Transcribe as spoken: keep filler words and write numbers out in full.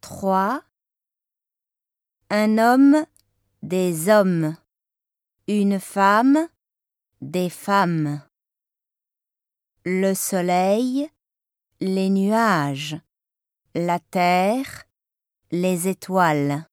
trois. Un homme, des hommes. Une femme, des femmes. Le soleil, les nuages. La terre, les étoiles.